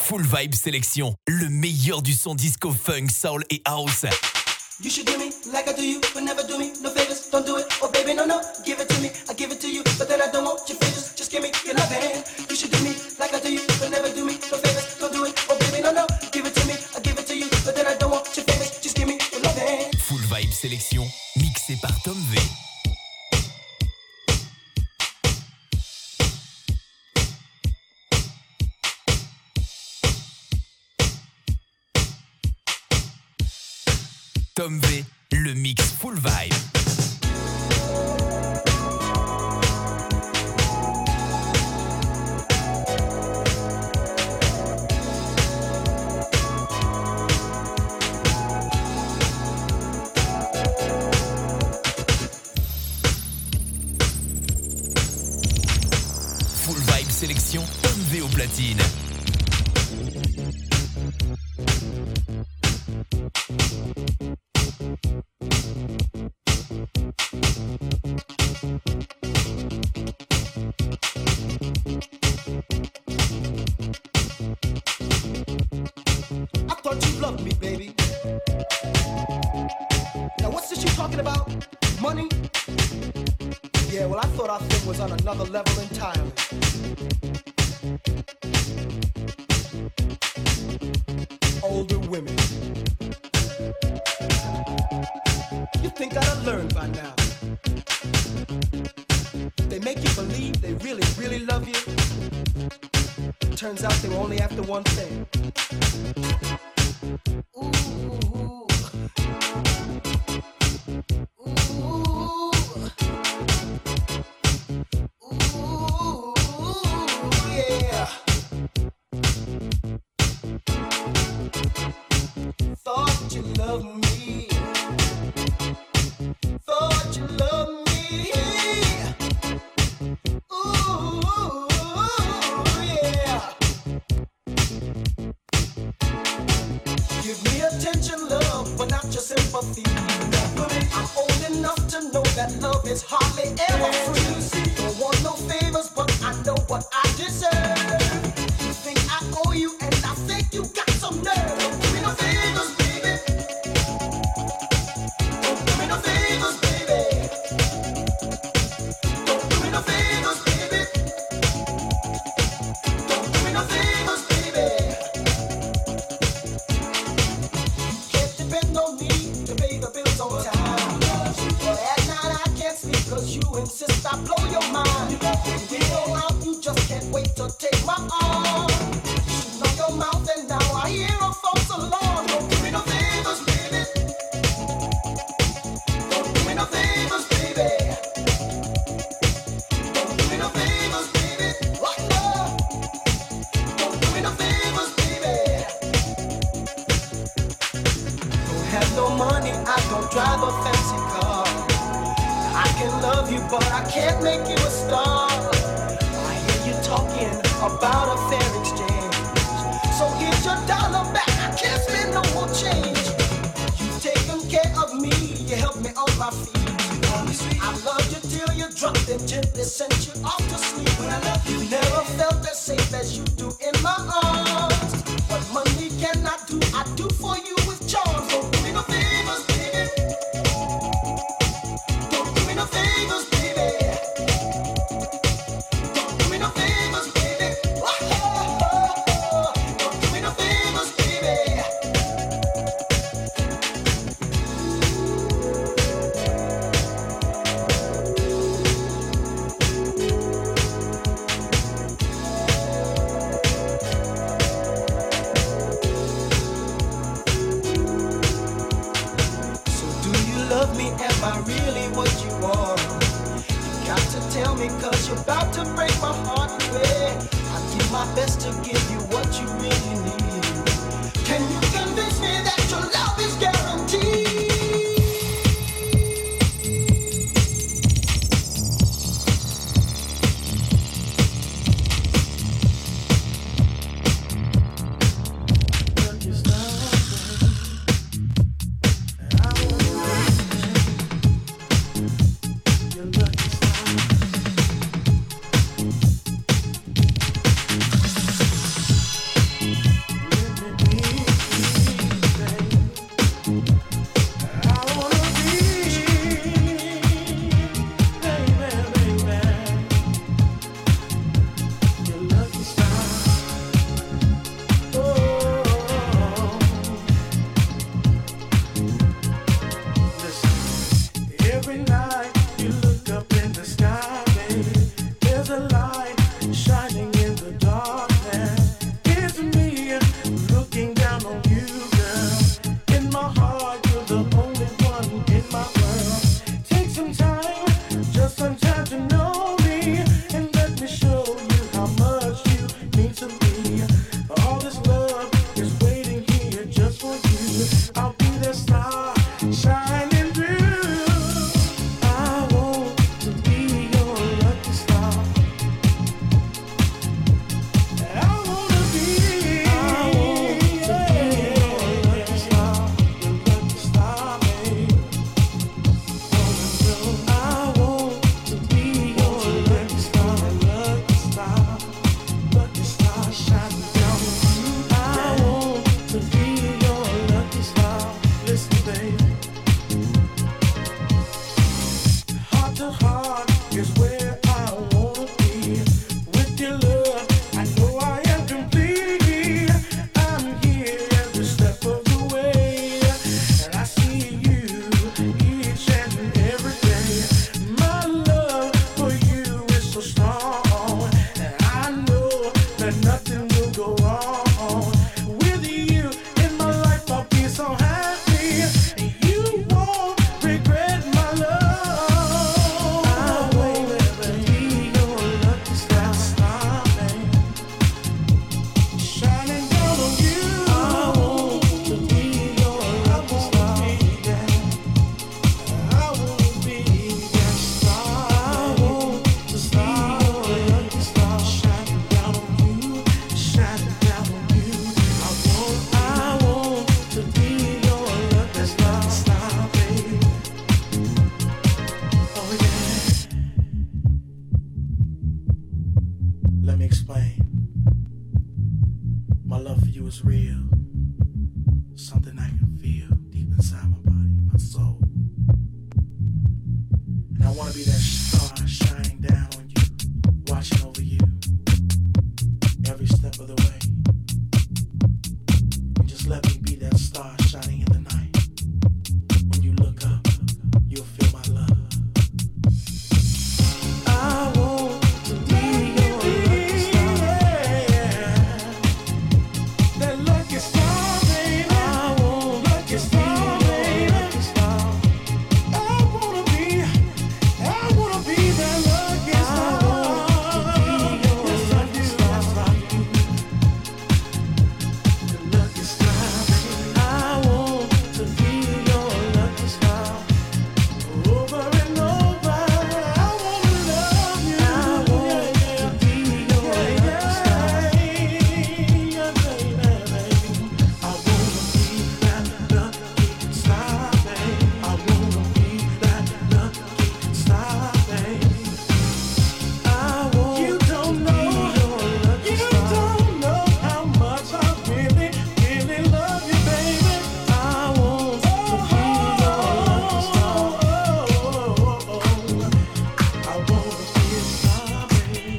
Full Vibe Sélection, le meilleur du son disco, funk, soul et house. You should do me like I do you, but never do me no favors. Don't do it, oh baby, no, no. Give it to me, I give it to you, but then I don't want your favors. Just give me your loving. You should do me like I do you, but never do me no favors. Don't do it, oh baby, no, no. Give it to me, I give it to you, but then I don't want your favors. Just give me your loving. Full Vibe Sélection, mixé par Tom V. Tom V, le mix Full Vibe. Full Vibe Sélection, Tom V au platine. On another level entirely. Older women. You think I'd have learned by now. They make you believe they really, really love you. Turns out they were only after one thing. My love for you is real. Something I can feel deep inside my body, my soul. And I wanna be that star shining down on you, watching over you every step of the way. And just let me be that star shining in the night. When you look up, you'll feel my love. I want to be your lucky star. That lucky star, baby. I want lucky star, baby. Lucky star. I wanna be that lucky star. I want to be your lucky star. The lucky star, baby. I want to be your lucky star. Over and over, I wanna love you. I want to be your lucky star. Yeah, baby. I wanna be that lucky star, baby. I wanna be that lucky star, baby. I want you don't know, you don't know how much I really, really love you, baby. I want to be your lucky star. I wanna be a star, baby.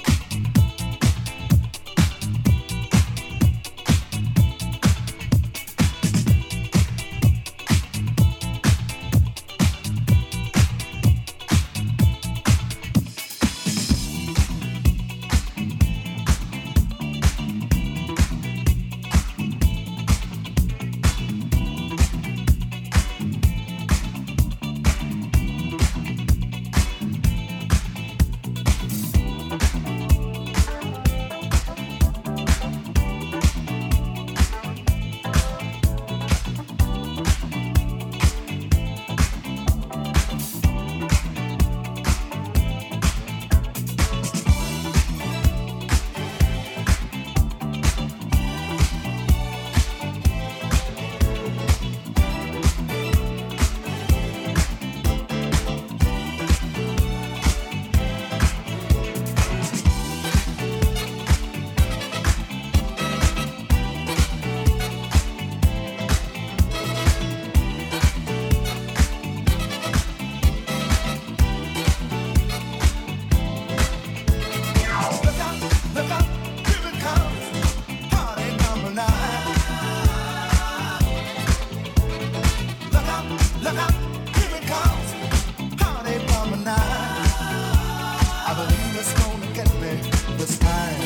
Look out, here it comes, party number 9. Look out, here it comes, party number 9. I believe it's gonna get me this time.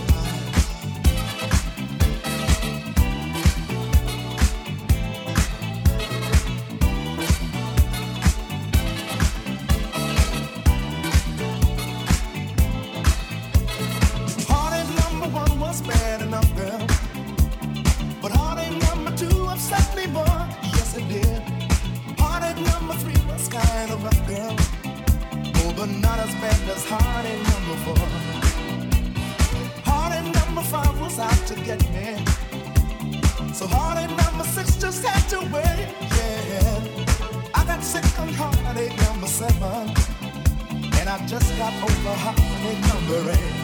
Heartache number 1 was bad enough, girl, but heartache number 2 upset me more. Yes, it did. Heartache number 3 was kind of rough, girl, oh, but not as bad as heartache number 4. Heartache number 5 was out to get me, so heartache number 6 just had to wait. Yeah, I got sick on heartache number 7, and I just got over heartache number 8.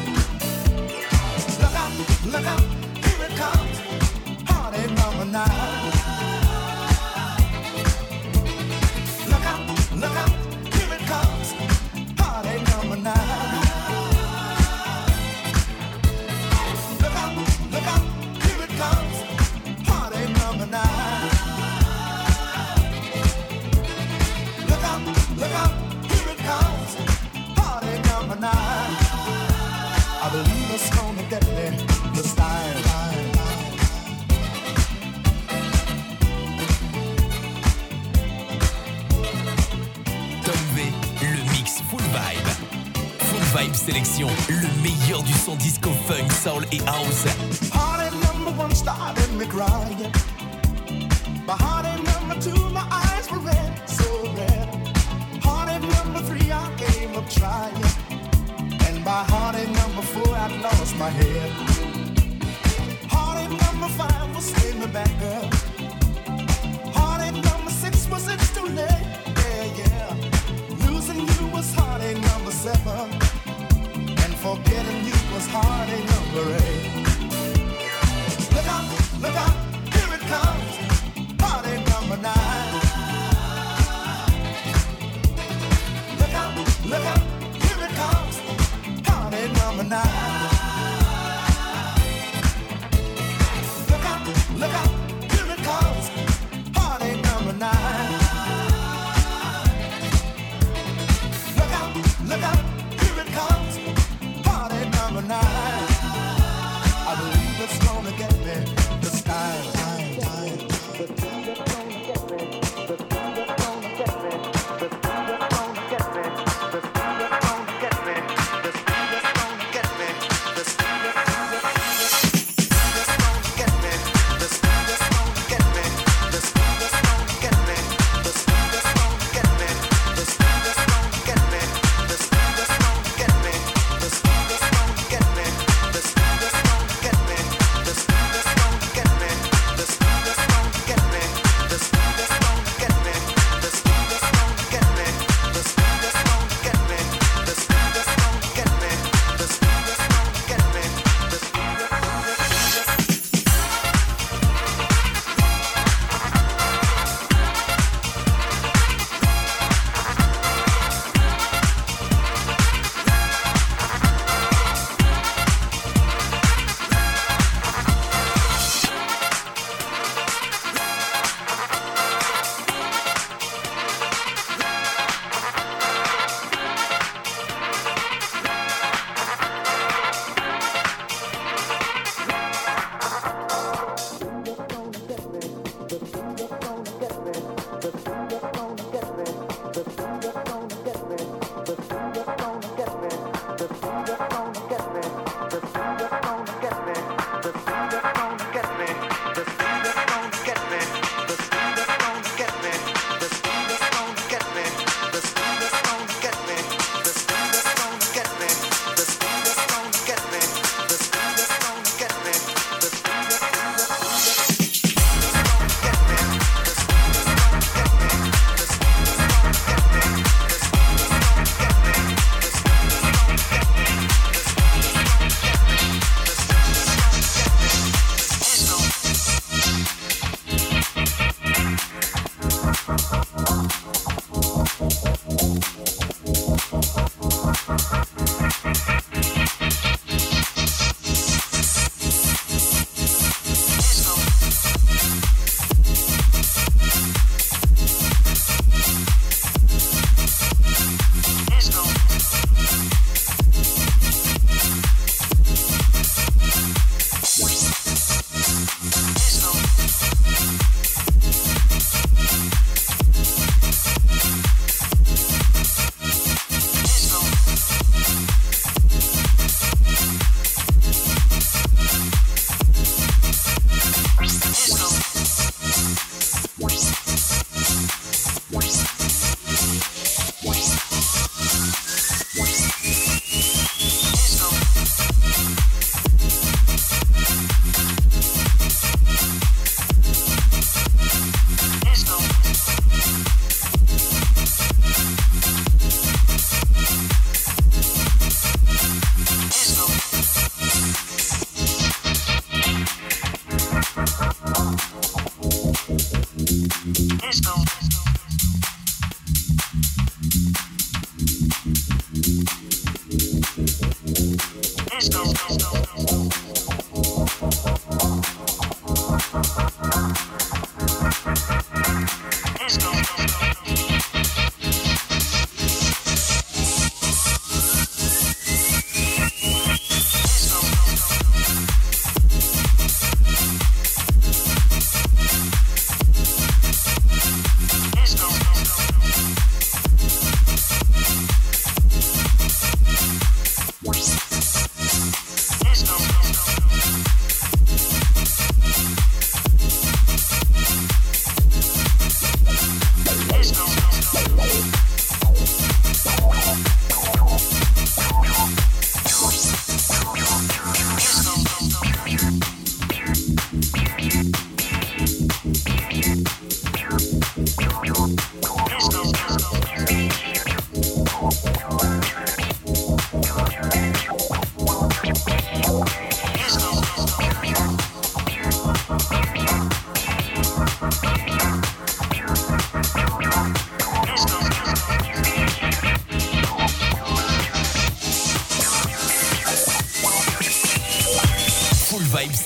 Look out, here it comes, heartache number 9. Look out, here it comes, heartache number 9. Look out, here it comes, heartache number 9. Look out, here it comes, heartache number 9. I believe it's gonna get me this time. Tom V, le mix Full Vibe. Full Vibe Sélection, le meilleur du son disco funk, soul et house. Heartache number 1 started me crying. By heartache number 2, my eyes were red, so red. Heartache number 3, I gave up trying. And by heartache number 4, I lost my head. Heartache number 5 was in the back, girl. Heartache number 6 was it's too late. Yeah. Losing you was heartache number 7. And forgetting you was heartache number 8.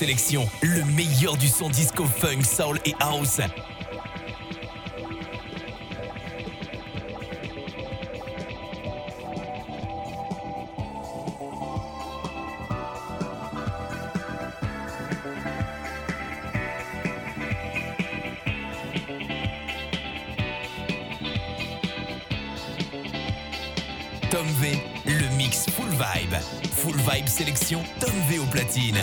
Sélection, le meilleur du son disco funk, soul et house. Tom V, le mix Full Vibe. Full Vibe Sélection, Tom V au platine.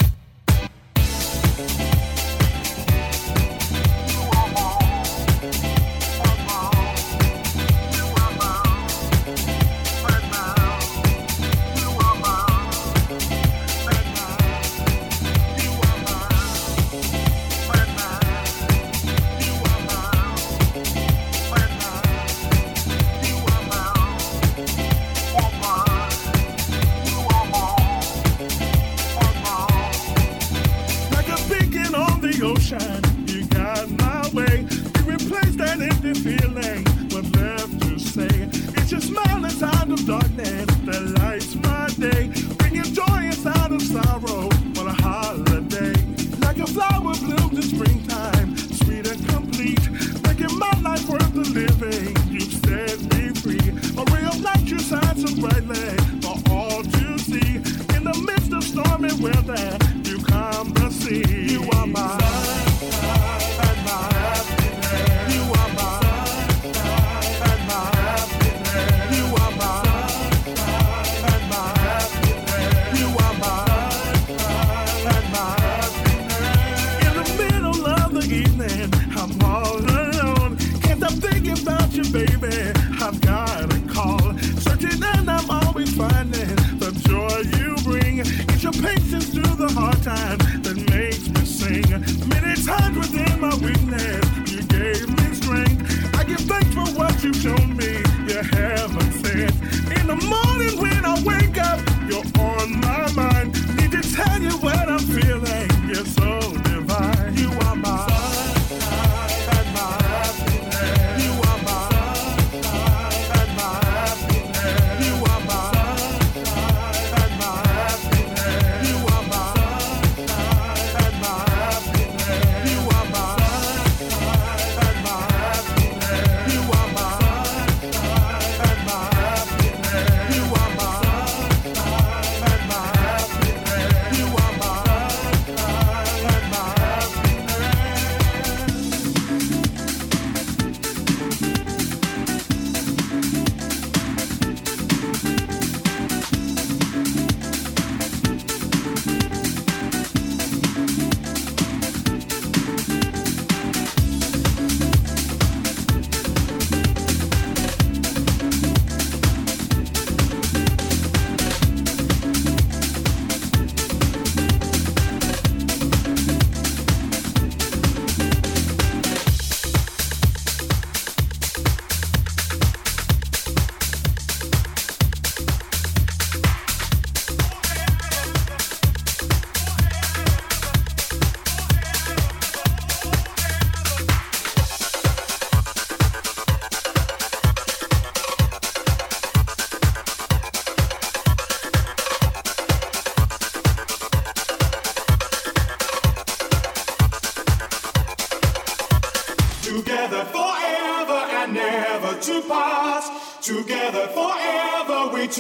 Together forever and never to part. Together forever we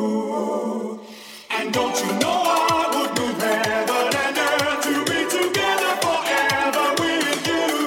two. And don't you know I would move heaven and earth to be together forever with you.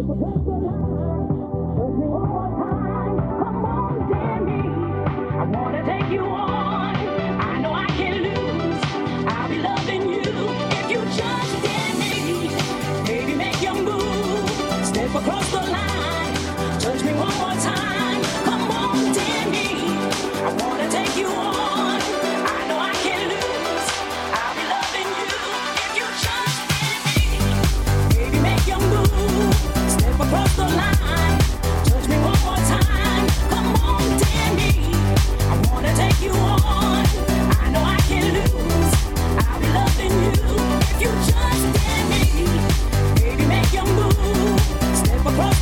Across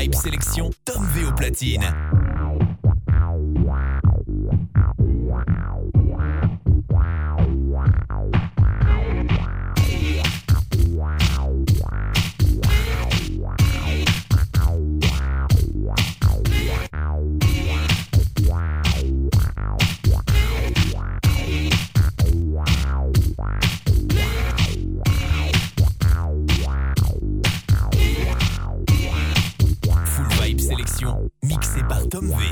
Vibe Sélection, Tom V au platine. Mixé par Tom V.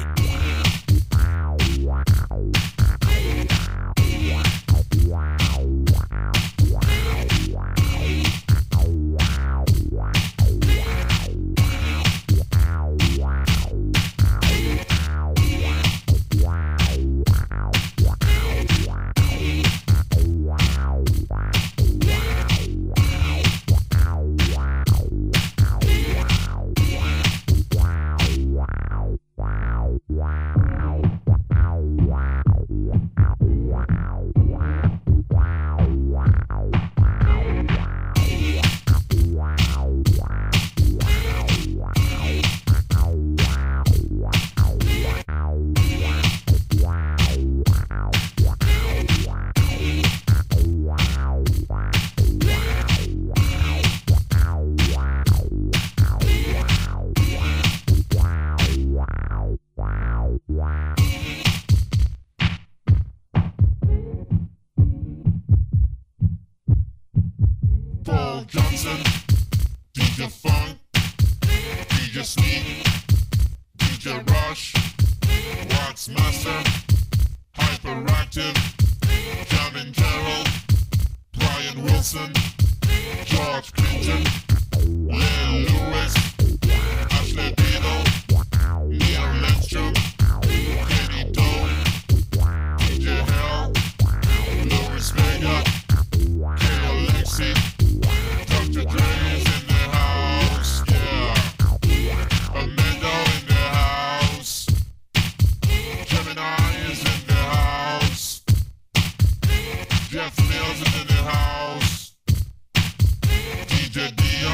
Jeff Mills is in the house. DJ Dion.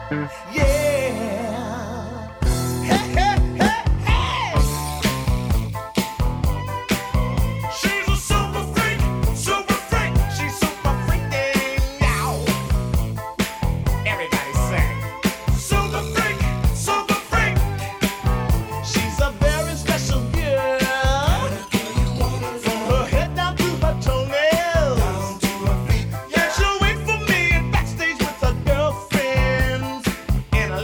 Yeah, she'll wait for me backstage with her girlfriends in a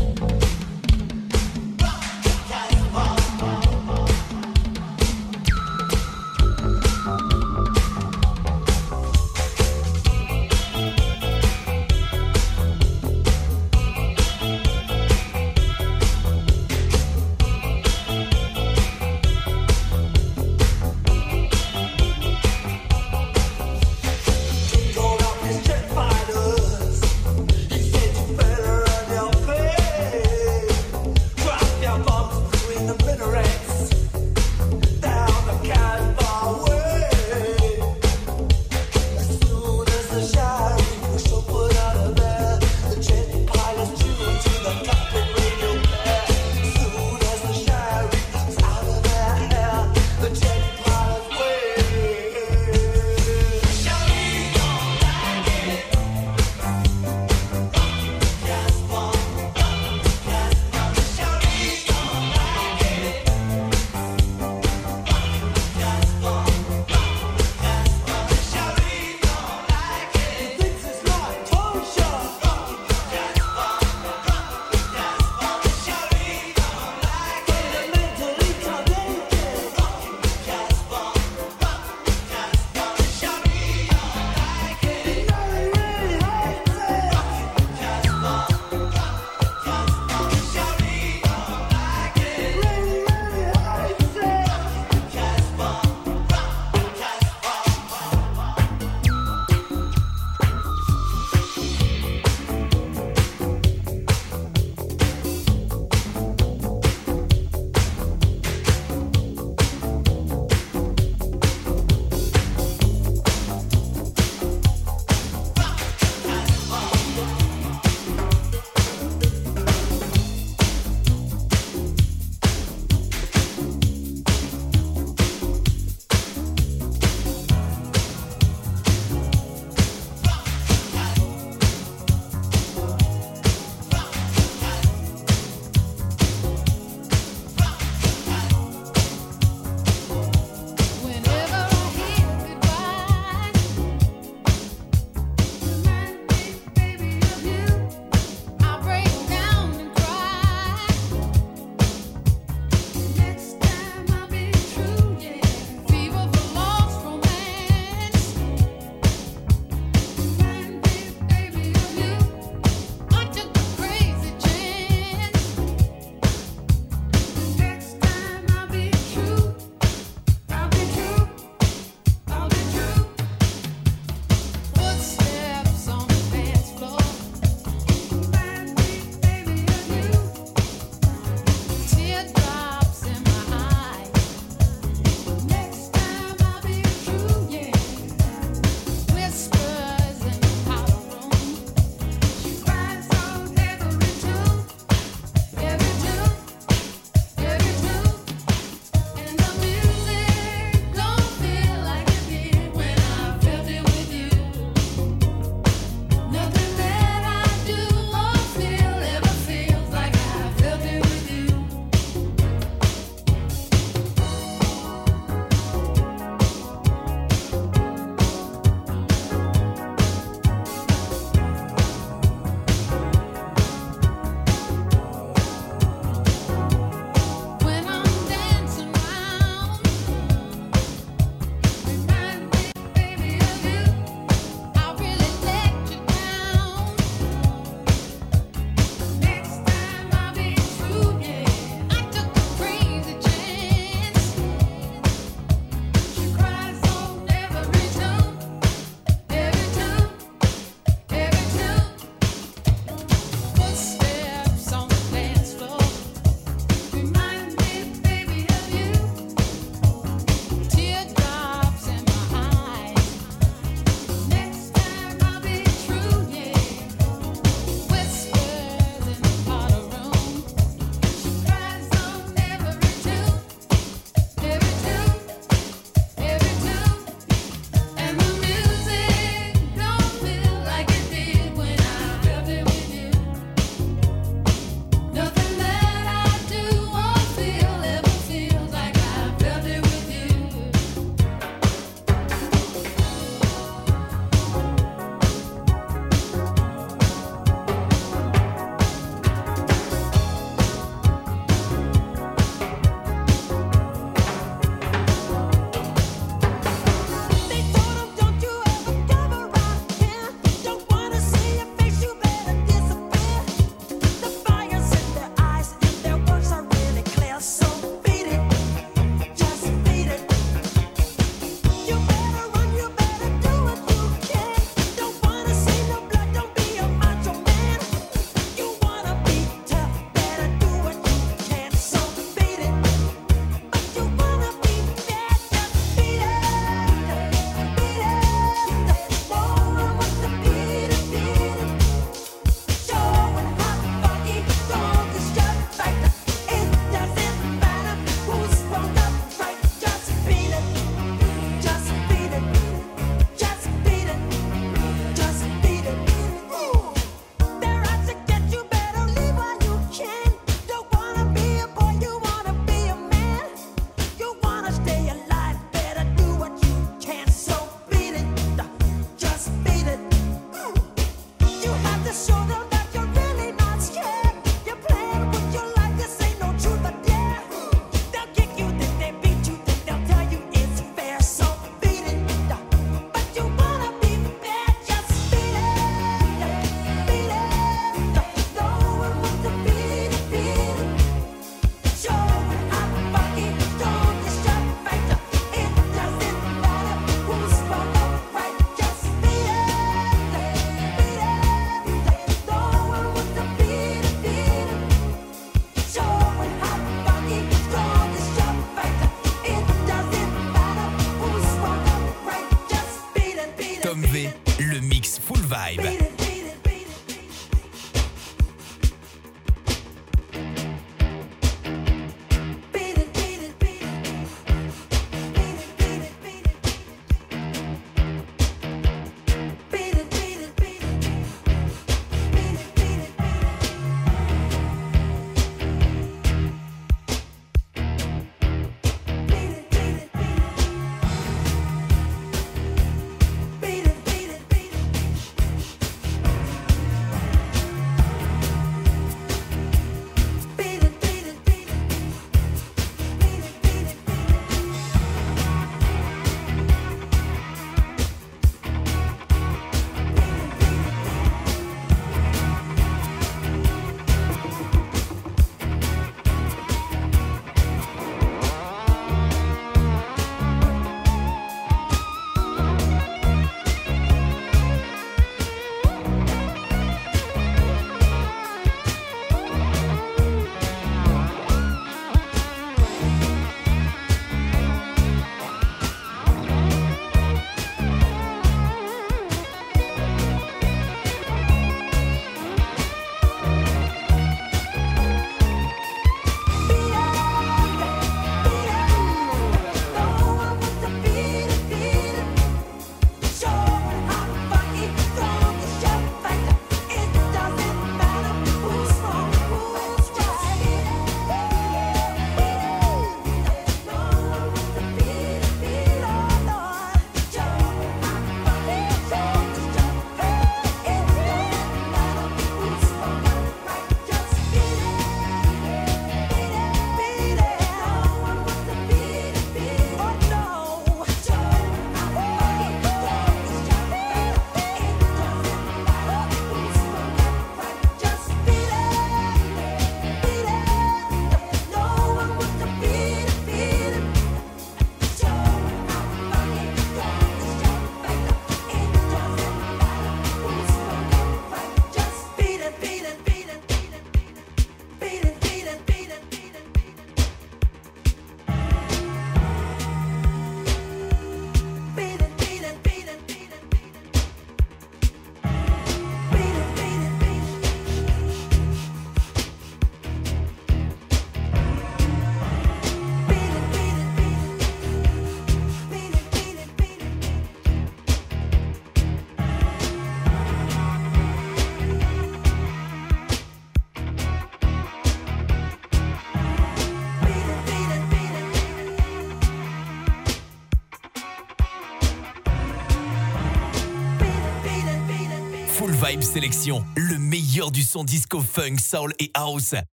Vibe Sélection, le meilleur du son disco funk, soul et house.